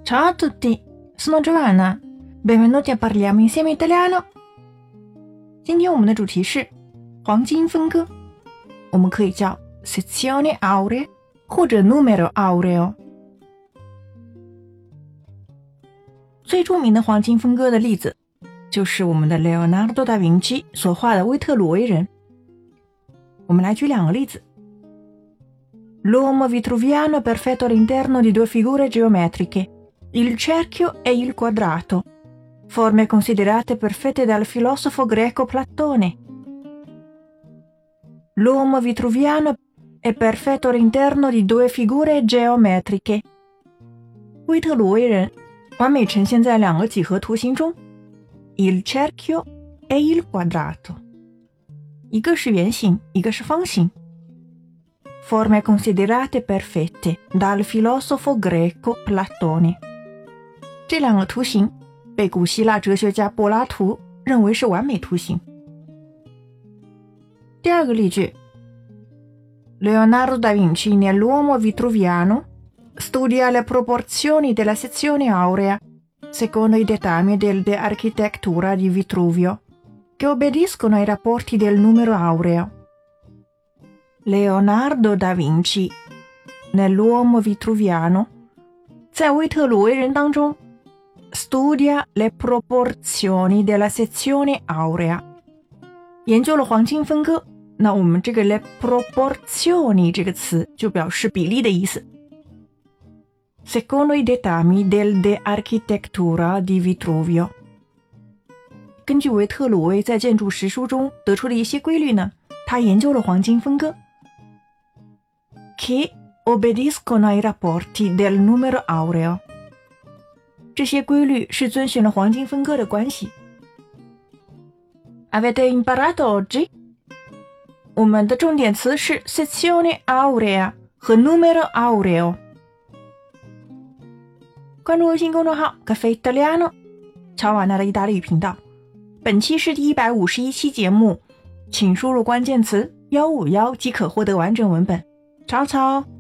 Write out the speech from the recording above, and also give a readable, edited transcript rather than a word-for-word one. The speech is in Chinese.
Ciao a tutti, sono Giovanna. Benvenuti a Parliamo Insieme Italiano. 今天我们的主题是黄金分割，我们可以叫 sezione aurea 或者 numero aureo。最著名的黄金分割的例子就是我们的 Leonardo da Vinci 所画的威特鲁维人。我们来举两个例子。L'uomo vitruviano è perfetto all'interno di due figure geometriche, il cerchio e il quadrato, forme considerate perfette dal filosofo greco Platone. L'uomo vitruviano è perfetto all'interno di due figure geometriche. 威特鲁维人完美呈现在两个几何图形中 il cerchio e il quadrato， 一个是圆形，一个是方形。Forme considerate perfette dal filosofo greco Platone， 这两个图形被古希腊哲学家柏拉图认为是完美图形。第二个例句 Leonardo da Vinci nell'uomo vitruviano studia le proporzioni della sezione aurea secondo i dettami della architettura di Vitruvio, che obbediscono ai rapporti del numero aureo. Leonardo da Vinci nell'uomo vitruviano 在威特鲁维人当中 studia le proporzioni della sezione aurea 研究了黄金分割。那我们这个 le proporzioni 这个词就表示比例的意思。Secondo i dettami della architettura di Vitruvio， 根据维特鲁威在建筑实书中得出的一些规律呢，他研究了黄金分割。Che obbediscono ai rapporti del numero aureo， 这些规律是遵循了黄金分割的关系。Avete imparato oggi？ 我们的重点词是 sezione aurea 和 numero aureo。关注微信公众号 Caffè Italiano 乔瓦纳的意大利语频道。本期是第151期节目，请输入关键词151即可获得完整文本。曹操。